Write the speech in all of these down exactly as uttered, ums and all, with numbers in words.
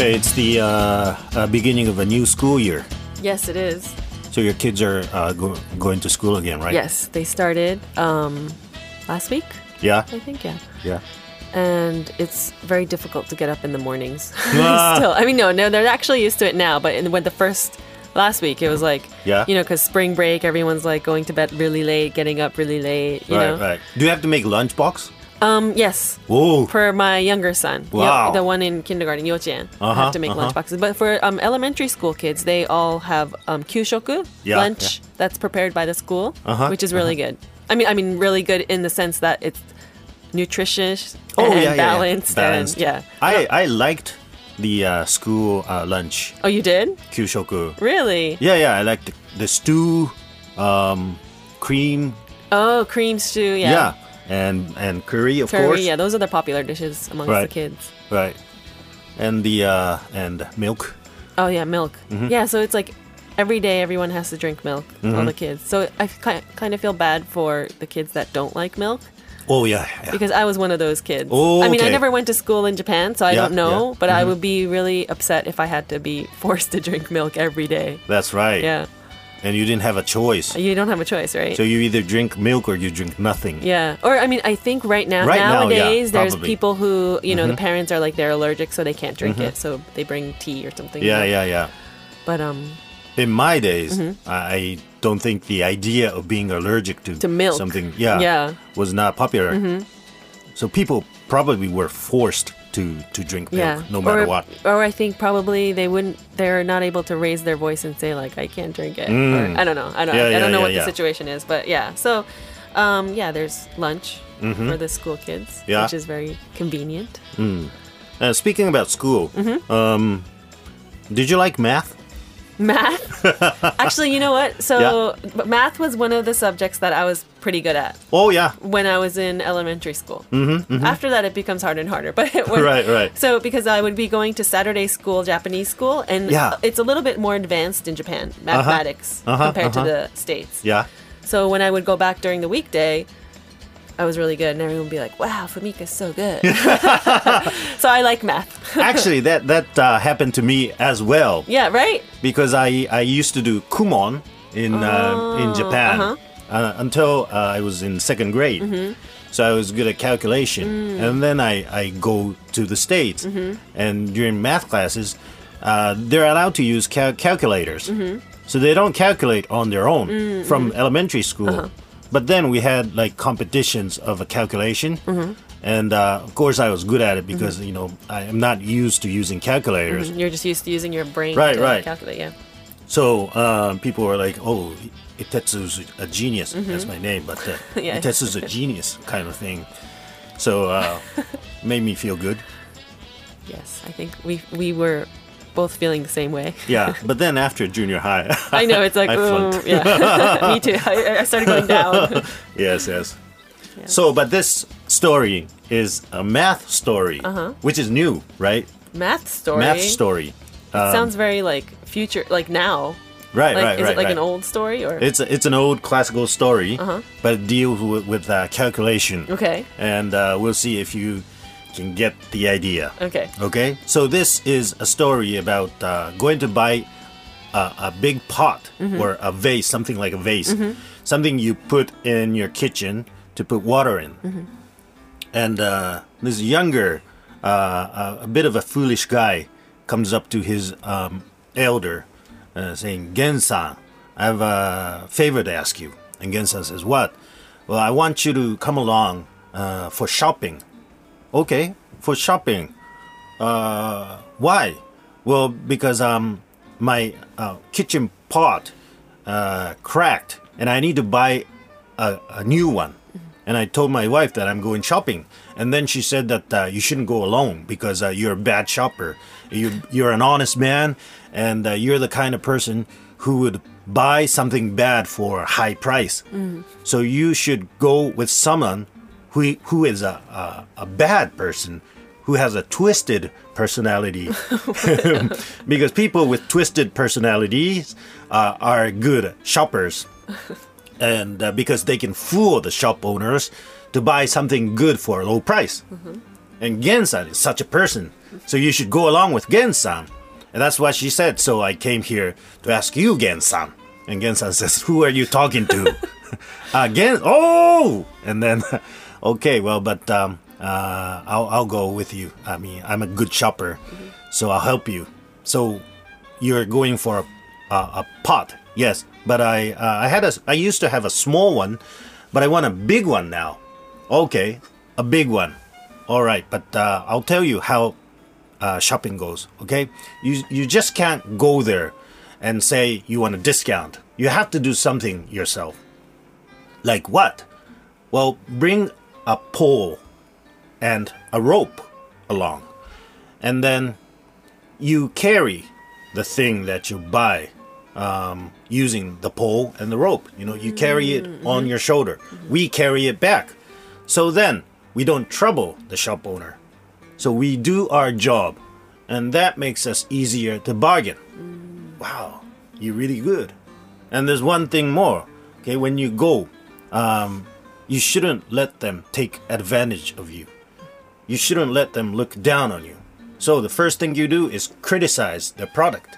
Hey, it's the uh, uh, beginning of a new school year. Yes, it is. So your kids are uh, go- going to school again, right? Yes, they started um, last week, Yeah? I think, yeah. Yeah. And it's very difficult to get up in the mornings. Ah. Still, I mean, no, no, they're actually used to it now. But in, when the first last week, it was like, Yeah. you know, because spring break, everyone's like going to bed really late, getting up really late. You right, know, right. Do you have to make lunchbox? um, yes. Whoa. For my younger son, Yo- Wow. the one in kindergarten, Yochien, Uh-huh, have to make uh-huh. lunchboxes. But for um, elementary school kids, they all have um, kyushoku, Yeah, lunch that's prepared by the school, Uh-huh, which is really good. I mean, I mean, really good in the sense that it's nutritious Oh, and yeah, yeah, yeah. balanced, Balanced. and yeah. I, I liked the uh, school uh, lunch, Oh, you did? kyushoku. Really? Yeah, yeah. I liked the, the stew, um, cream. Oh, cream stew, yeah. Yeah. And and curry, of Curry, course. yeah. Those are the popular dishes amongst Right. the kids. Right. And the uh, and milk. Oh, yeah, milk. Mm-hmm. Yeah, so it's like every day everyone has to drink milk, Mm-hmm. all the kids. So I kind of feel bad for the kids that don't like milk. Oh yeah. yeah. Because I was one of those kids. Oh, I mean, I okay. never went to school in Japan, so I Yeah, don't know. yeah. But I Mhm. would be really upset if I had to be forced to drink milk every day. That's right. Yeah. And you didn't have a choice. You don't have a choice, right? So you either drink milk or you drink nothing. Yeah. Or, I mean, I think right now, Right now, yeah, nowadays, there's probably. people who, you know, the parents are like, they're allergic, so they can't drink it. So they bring tea or something. Yeah, you know? yeah, yeah. But, um, In my days, I don't think the idea of being allergic to, To milk. something, yeah, Yeah. was not popular. So people probably were forced to to drink milk, yeah. no matter or, what. Or I think probably they wouldn't, they're not able to raise their voice and say, like, I can't drink it. Mm. Or, I don't know. I don't, Yeah, I yeah, don't know yeah, what yeah. the situation is. But yeah. So, um, yeah, there's lunch for the school kids, Mm-hmm. Yeah. which is very convenient. Uh, speaking about school, Mm-hmm. um, did you like math? Math? Actually, you know what? So, but math was one of the subjects that I was pretty good at Oh yeah, when I was in elementary school. Mm-hmm, After that, it becomes harder and harder. But it was, Right, right. So, because I would be going to Saturday school, Japanese school, and Yeah. it's a little bit more advanced in Japan, mathematics, Uh-huh, compared uh-huh. to the States. yeah. So, when I would go back during the weekday, I was really good, and everyone would be like, "Wow, Fumika's so good." So I like math. Actually, that that uh, happened to me as well Yeah, right? because I I used to do kumon in uh, in Japan uh-huh. uh, until uh, I was in second grade. Mm-hmm. So I was good at calculation, Mm. and then I, I go to the States, Mm-hmm. and during math classes, uh, they're allowed to use cal- calculators. Mm-hmm. So they don't calculate on their own Mm, from elementary school. Uh-huh. But then we had like competitions of a calculation, Mm-hmm. and uh, of course I was good at it because you know I am not used to using calculators. You're just used to using your brain Right, to right. calculate, yeah. So uh, people were like, "Oh, Itetsu's a genius." That's my name, but uh, Mm-hmm. Yeah. Itetsu's a genius kind of thing. So uh, made me feel good. Yes, I think we we were both feeling the same way. Yeah, but then after junior high, I know, it's like, I oh, flunked. yeah. Me too. I, I started going down. yes, yes. Yeah. So, but this story is a math story, Uh-huh. which is new, right? Math story. Math story. Um, Sounds very like future, like now. Right, Like, right, is right. it like right. an old story or? It's a, it's an old classical story, Uh-huh. but it deals with, with uh, calculation. Okay. And uh, we'll see if you can get the idea. Okay. Okay, so this is a story about uh, going to buy a, a big pot Mm-hmm. or a vase, something like a vase, something you put in your kitchen to put water in. Mm-hmm. And uh, this younger, uh, a, a bit of a foolish guy comes up to his um, elder uh, saying, "Gen-san, I have a favor to ask you." And Gen-san says, "What?" "Well, I want you to come along uh, for shopping." "Okay, for shopping. Uh, why?" "Well, because um, my uh, kitchen pot uh, cracked, and I need to buy a, a new one." And I told my wife that I'm going shopping, and then she said that uh, you shouldn't go alone because uh, you're a bad shopper. You, you're an honest man, and uh, you're the kind of person who would buy something bad for a high price. So you should go with someone who who is a, a, a bad person, who has a twisted personality. Because people with twisted personalities uh, are good shoppers. And uh, because they can fool the shop owners to buy something good for a low price. And Gen-san is such a person. So you should go along with Gen-san. And that's what she said. So I came here to ask you, Gen-san. And Gen-san says, who are you talking to? uh, Gen, oh! And then, okay, well, but um, uh, I'll, I'll go with you. I mean, I'm a good shopper, mm-hmm. so I'll help you. So you're going for a, a, a pot, yes. But I, uh, I had a, I used to have a small one, but I want a big one now. Okay, a big one. All right, but uh, I'll tell you how uh, shopping goes. Okay, you you just can't go there and say you want a discount. You have to do something yourself. Like what? Well, bring a pole and a rope along, and then you carry the thing that you buy um, using the pole and the rope. You know, you carry it mm-hmm. on your shoulder. Mm-hmm. We carry it back. So then we don't trouble the shop owner. So we do our job, and that makes us easier to bargain. Mm. Wow, you're really good. And there's one thing more. Okay, when you go, um, you shouldn't let them take advantage of you. You shouldn't let them look down on you. So the first thing you do is criticize the product.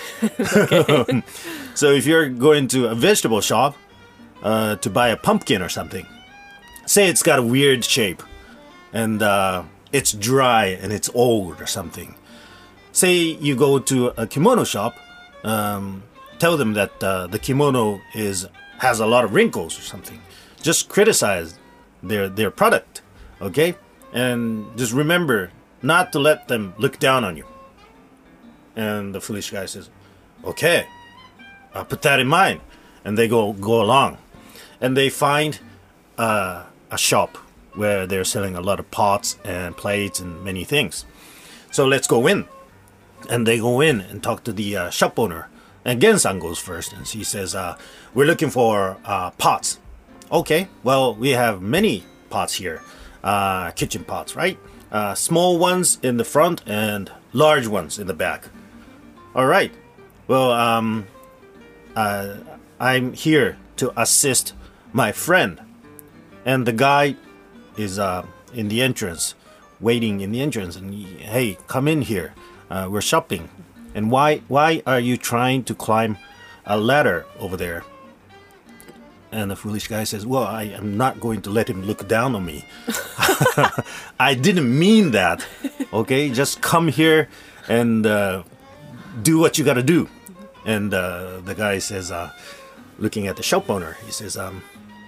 So if you're going to a vegetable shop uh, to buy a pumpkin or something, say it's got a weird shape and uh, it's dry and it's old or something. Say you go to a kimono shop, um, tell them that uh, the kimono is has a lot of wrinkles or something. Just criticize their their product, okay? And just remember not to let them look down on you. And the foolish guy says, okay, I'll put that in mind. And they go go along. And they find uh, a shop where they're selling a lot of pots and plates and many things. So let's go in. And they go in and talk to the uh, shop owner. And Gen-san goes first. And she says, uh, we're looking for uh, pots. Okay, well, we have many pots here. Uh, kitchen pots, right? Uh, small ones in the front and large ones in the back. All right. Well, um, uh, I'm here to assist my friend. And the guy is uh, in the entrance, waiting in the entrance. And he, hey, come in here. Uh, we're shopping. And why why are you trying to climb a ladder over there? And the foolish guy says, well, I am not going to let him look down on me. I didn't mean that. Okay, just come here and uh, do what you got to do. And uh, the guy says, uh, looking at the shop owner, he says, um,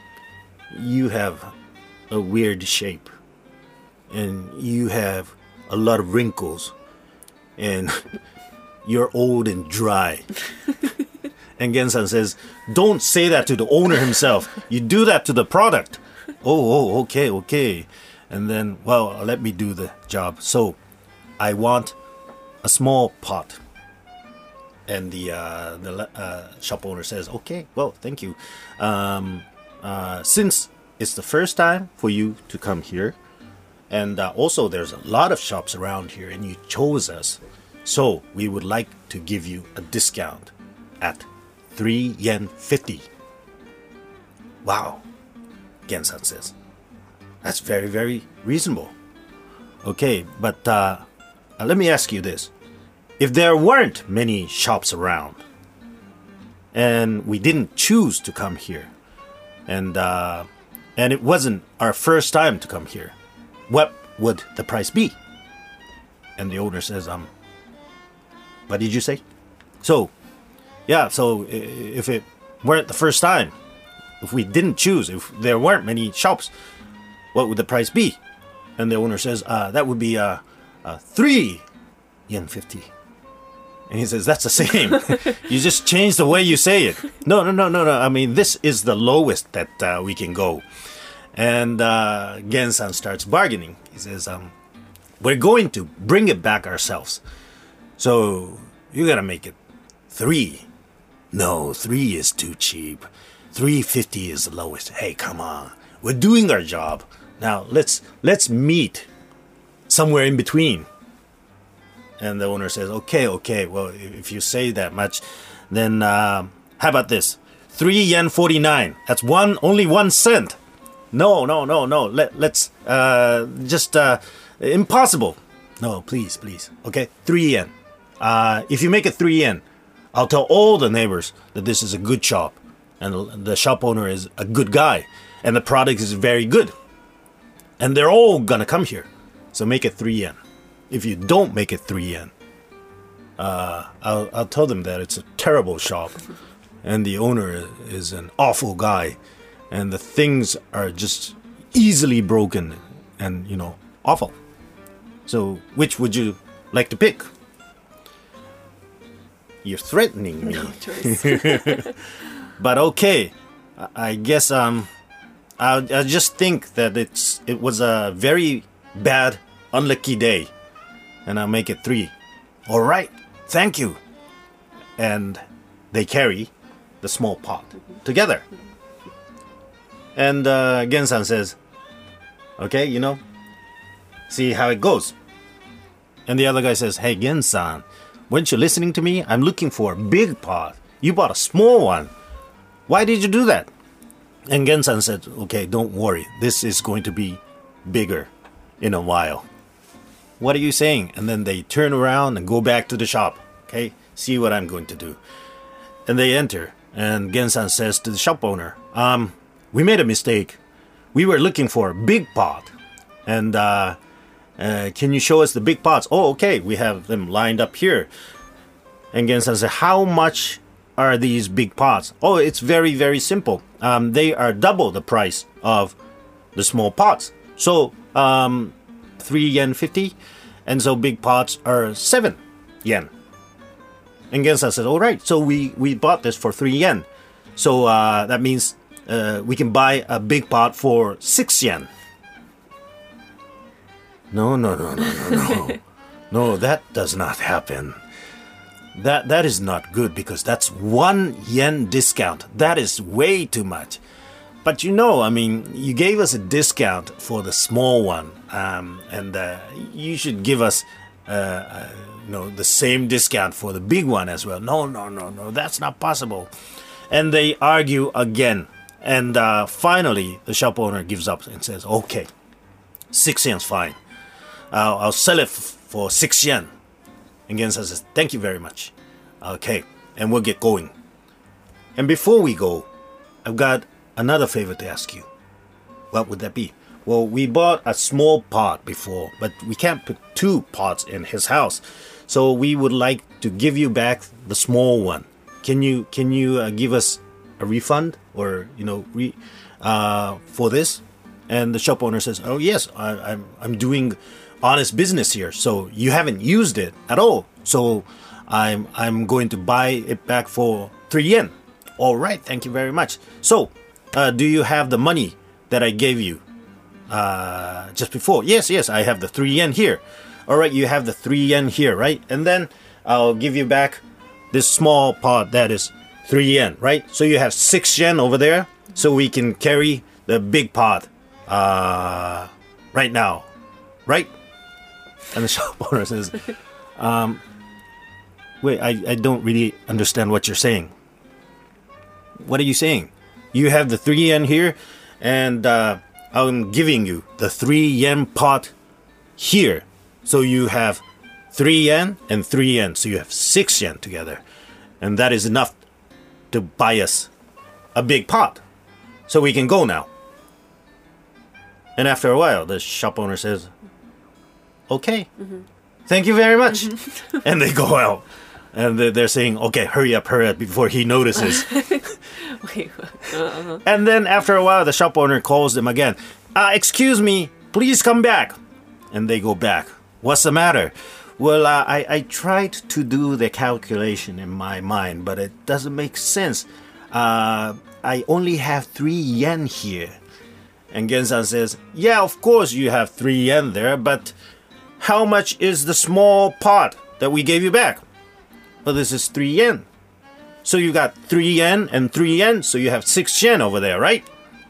you have a weird shape. And you have a lot of wrinkles. And you're old and dry. And Gen-san says, don't say that to the owner himself. You do that to the product. Oh, oh, okay, okay. And then, well, let me do the job. So, I want a small pot. And the uh, the uh, shop owner says, okay, well, thank you. Um, uh, since it's the first time for you to come here, and uh, also there's a lot of shops around here, and you chose us, so we would like to give you a discount at three yen fifty. Wow, Gen-san says. That's very, very reasonable. Okay, but uh, uh, let me ask you this. If there weren't many shops around, and we didn't choose to come here, and uh, and it wasn't our first time to come here, what would the price be? And the owner says, um, what did you say? So, yeah, so if it weren't the first time, if we didn't choose, if there weren't many shops, what would the price be? And the owner says, uh, that would be uh, uh, three yen fifty. And he says, that's the same. You just change the way you say it. No, no, no, no, no. I mean, this is the lowest that uh, we can go. And uh, Gen-san starts bargaining. He says, um, we're going to bring it back ourselves. So you got to make it three. No, three is too cheap. three fifty is the lowest. Hey, come on. We're doing our job. Now, let's let's meet somewhere in between. And the owner says, okay, okay, well, if you say that much, then uh, how about this? three yen forty-nine. That's one, only one cent. No, no, no, no. Let, let's uh, just uh, impossible. No, please, please. Okay, three yen. Uh, if you make it three yen, I'll tell all the neighbors that this is a good shop, and the shop owner is a good guy, and the product is very good, and they're all gonna come here. So make it three yen. If you don't make it three yen, uh, I'll I'll tell them that it's a terrible shop, and the owner is an awful guy. And the things are just easily broken and, you know, awful. So, which would you like to pick? You're threatening me. No choice. But okay, I guess um, I I just think that it's it was a very bad, unlucky day, and I'll make it three. All right, thank you. And they carry the small pot together. And uh, Gen-san says, okay, you know, see how it goes. And the other guy says, hey, Gen-san, weren't you listening to me? I'm looking for a big pot. You bought a small one. Why did you do that? And Gen-san said, okay, don't worry. This is going to be bigger in a while. What are you saying? And then they turn around and go back to the shop. Okay, see what I'm going to do. And they enter. And Gen-san says to the shop owner, um... we made a mistake. We were looking for a big pot. And uh, uh, can you show us the big pots? Oh, okay. We have them lined up here. And Gen-san said, how much are these big pots? Oh, it's very, very simple. Um, they are double the price of the small pots. So, um, three yen fifty. And so big pots are seven yen. And Gen-san said, all right. So we, we bought this for three yen. So uh, that means... Uh, we can buy a big pot for six yen. No, no, no, no, no, no. No, that does not happen. That that is not good because that's one yen discount. That is way too much. But you know, I mean, you gave us a discount for the small one, um, and uh, you should give us, uh, uh, you know, the same discount for the big one as well. No, no, no, no, that's not possible. And they argue again. And uh, finally, the shop owner gives up and says, okay, six yen's fine. I'll, I'll sell it f- for six yen. And Gen-san says, thank you very much. Okay, and we'll get going. And before we go, I've got another favor to ask you. What would that be? Well, we bought a small pot before, but we can't put two pots in his house. So we would like to give you back the small one. Can you, can you uh, give us a refund or, you know, re, uh, for this? And the shop owner says, oh, yes, I, I'm, I'm doing honest business here. So you haven't used it at all. So I'm, I'm going to buy it back for three yen. All right. Thank you very much. So, uh, do you have the money that I gave you, uh, just before? Yes, yes, I have the three yen here. All right. You have the three yen here, right? And then I'll give you back this small pot that is three yen, right? So you have six yen over there, so we can carry the big pot uh, right now, right? And the shop owner says, um, wait, I, I don't really understand what you're saying. What are you saying? You have the three yen here, and uh, I'm giving you the three yen pot here. So you have three yen and three yen, so you have six yen together. And that is enough to buy us a big pot, so we can go now. And after a while, the shop owner says, okay, mm-hmm. Thank you very much. Mm-hmm. And they go out. And they're saying, okay, hurry up, hurry up, before he notices. Wait, uh-huh. And then after a while, the shop owner calls them again. Uh, excuse me, please come back. And they go back. What's the matter? Well, uh, I, I tried to do the calculation in my mind, but it doesn't make sense. Uh, I only have three yen here. And Gen-san says, yeah, of course you have three yen there, but how much is the small pot that we gave you back? Well, this is three yen. So you got three yen and three yen, so you have six yen over there, right?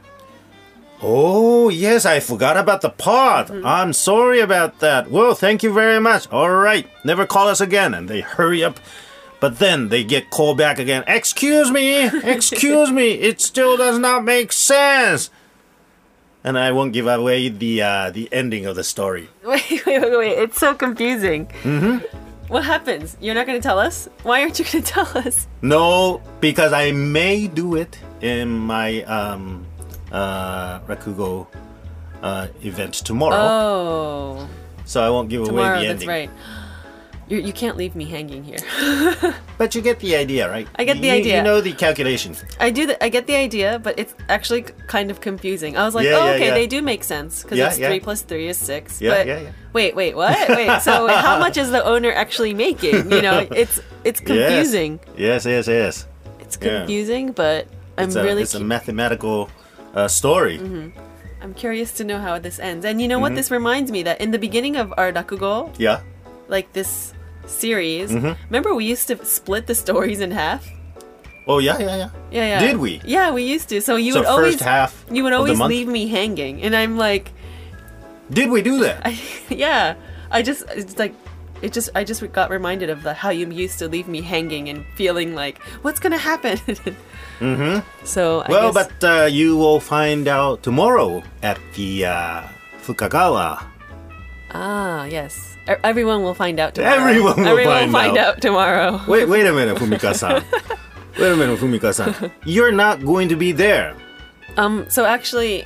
Oh, yes, I forgot about the pot. Mm-hmm. I'm sorry about that. Well, thank you very much. All right, never call us again. And they hurry up. But then they get called back again. Excuse me, excuse me, it still does not make sense. And I won't give away the uh, the ending of the story. Wait, wait, wait, wait. It's so confusing. Mm-hmm. What happens? You're not going to tell us? Why aren't you going to tell us? No, because I may do it in my um, uh, Rakugo uh, event tomorrow. Oh. So I won't give Tomorrow, away the that's ending. right. You you can't leave me hanging here. But you get the idea, right? I get the You- idea. You know the calculation. I do. The, I get the idea, but it's actually kind of confusing. I was like, Yeah, oh, yeah, okay, yeah. they do make sense because Yeah, it's yeah. three plus three is six. Yeah, but yeah, yeah. wait, wait, what? Wait, so how much is the owner actually making? You know, it's it's confusing. Yes, yes, yes. yes. It's Yeah. confusing, but I'm It's a, really it's a cu- mathematical uh, story. I'm curious to know how this ends. And you know what? Mm-hmm. This reminds me that in the beginning of our Rakugo, Yeah. like this series, Mm-hmm. remember we used to split the stories in half. Oh, yeah, yeah, yeah. Yeah, yeah. Did we? Yeah, we used to. So you So would first always half you would of the always month? leave me hanging, and I'm like, Did we do that? I, yeah. I just it's like it just I just got reminded of the, how you used to leave me hanging and feeling like what's gonna happen. mm-hmm. So I Well, guess, but uh, you will find out tomorrow at the uh, Fukagawa. ah yes, E- everyone will find out tomorrow. Everyone will Everyone find will find out. out tomorrow. Wait, wait a minute, Fumika-san. Wait a minute, Fumika-san. You're not going to be there. Um. So actually,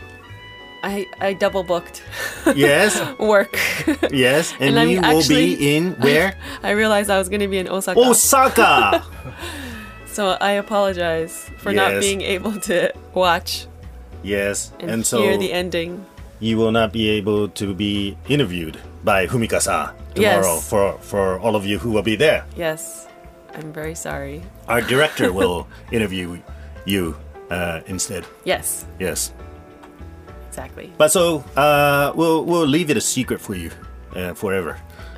I I double booked Yes, work. yes, and, And I'm you will actually- be in where? I realized I was gonna be in Osaka. Osaka. So I apologize for not Yes. being able to watch Yes, and, and, so hear the ending. you will not be able to be interviewed by Fumika-san tomorrow Yes. for for all of you who will be there. Yes, I'm very sorry. Our director will interview you uh, instead. Yes, Yes. exactly. But so uh, we'll we'll leave it a secret for you uh, forever.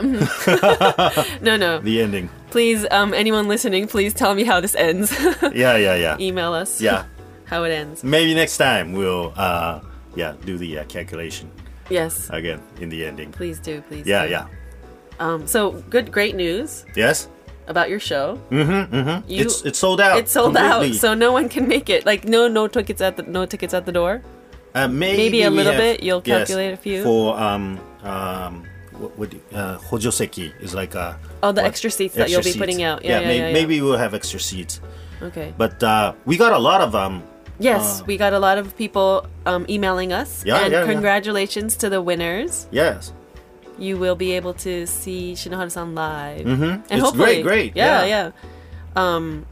No, no. The ending. Please, um, anyone listening, please tell me how this ends. Yeah, yeah, yeah. Email us. Yeah. How it ends. Maybe next time we'll uh, yeah do the uh, calculation Yes. again in the ending. Please do. Please. Yeah, do. yeah. Um. So good, great news Yes. about your show. Mm-hmm. Mm-hmm. You- It's it's sold out. It's sold completely. out, so no one can make it. Like no, no tickets at the no tickets at the door. Uh, maybe, Maybe a we little have- bit, you'll yes, calculate a few. for um um what would you- uh, hojoseki is like a Oh, the what? extra seats that Extra you'll be putting seats. out. Yeah, yeah, may- yeah, yeah. maybe we'll have extra seats. Okay. But uh, we got a lot of um. Yes, Uh, we got a lot of people um, emailing us. Yeah, and yeah, yeah. congratulations to the winners. Yes. You will be able to see Shinohara-san live. Mm-hmm. And It's hopefully, great, great. Yeah, Yeah. yeah. Um,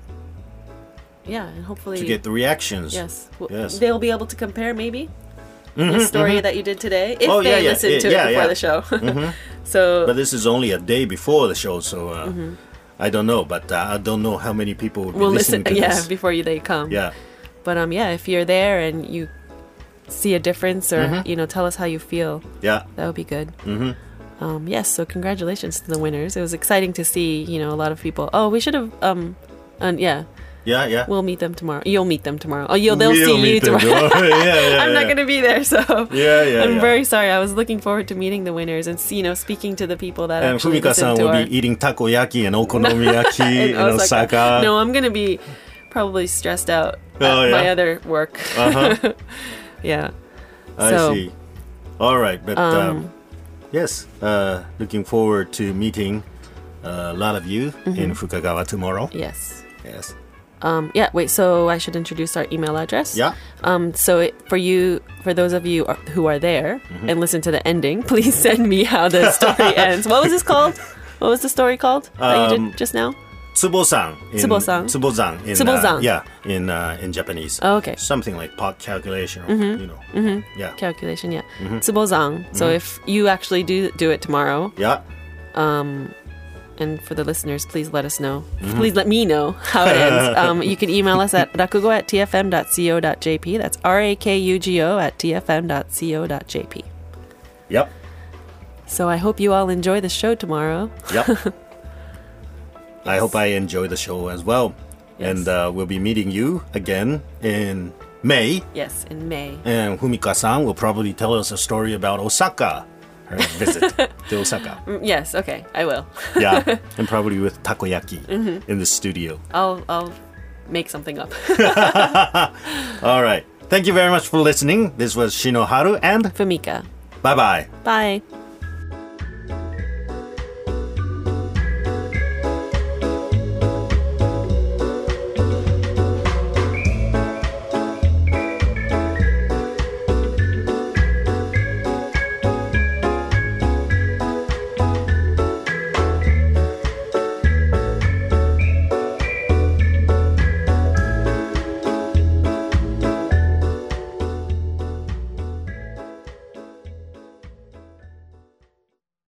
yeah, and hopefully, To get the reactions. yes, w- Yes. they'll be able to compare maybe Mhm, the story mhm. that you did today if Oh, they yeah, yeah, listen yeah, to yeah, it before yeah. the show. Mhm. So But this is only a day before the show, so uh, Mm-hmm. I don't know. But uh, I don't know how many people will be we'll listen. listening to Yeah, this. before you, they come. Yeah. But um, yeah, if you're there and you see a difference or Mm-hmm. you know, tell us how you feel. Yeah. That would be good. Mm-hmm. Um, yes, so congratulations to the winners. It was exciting to see, you know, a lot of people. Oh, we should have, um, and yeah, Yeah, yeah. we'll meet them tomorrow. You'll meet them tomorrow. Oh, you'll, they'll We'll see you meet them tomorrow. tomorrow. yeah, yeah, I'm not yeah. going to be there, so Yeah, yeah, I'm yeah. very sorry. I was looking forward to meeting the winners and, you know, speaking to the people that And actually listen Fumika-san to will our... be eating takoyaki and okonomiyaki in, Osaka. No, I'm going to be probably stressed out at Oh, yeah? my other work. Uh-huh. Yeah. I So, see. All right, but um, Um, yes, uh, looking forward to meeting uh, a lot of you Mm-hmm. in Fukagawa tomorrow. yes. Yes. Um, yeah, wait, so I should introduce our email address? Yeah. Um, so it, for you, for those of you are, who are there Mm-hmm. and listen to the ending, please send me how the story ends. What was this called? What was the story called that you Um, did just now? Tsubo-san. in- Tsubo-san. Tsubo-san. In, Tsubo-san. Uh, yeah, in uh, in Japanese. Oh, okay. Something like pot calculation, or, you know. Mm-hmm. Yeah. Calculation, yeah. Mm-hmm. Tsubozang. So if you actually do do it tomorrow, Yeah. and for the listeners, please let us know. Mm-hmm. Please let me know how it ends. Um, you can email us at rakugo at t f m dot co dot j p. That's R A K U G O at t f m dot co dot j p. Yep. So I hope you all enjoy the show tomorrow. Yep. I hope I enjoy the show as well. Yes. And uh, we'll be meeting you again in May. Yes, in May. And Fumika-san will probably tell us a story about Osaka, her visit to Osaka. Mm, Yes, okay, I will. Yeah, and probably with takoyaki Mm-hmm. in the studio. I'll I'll make something up. All right. Thank you very much for listening. This was Shinoharu and Famika. bye-bye. Bye.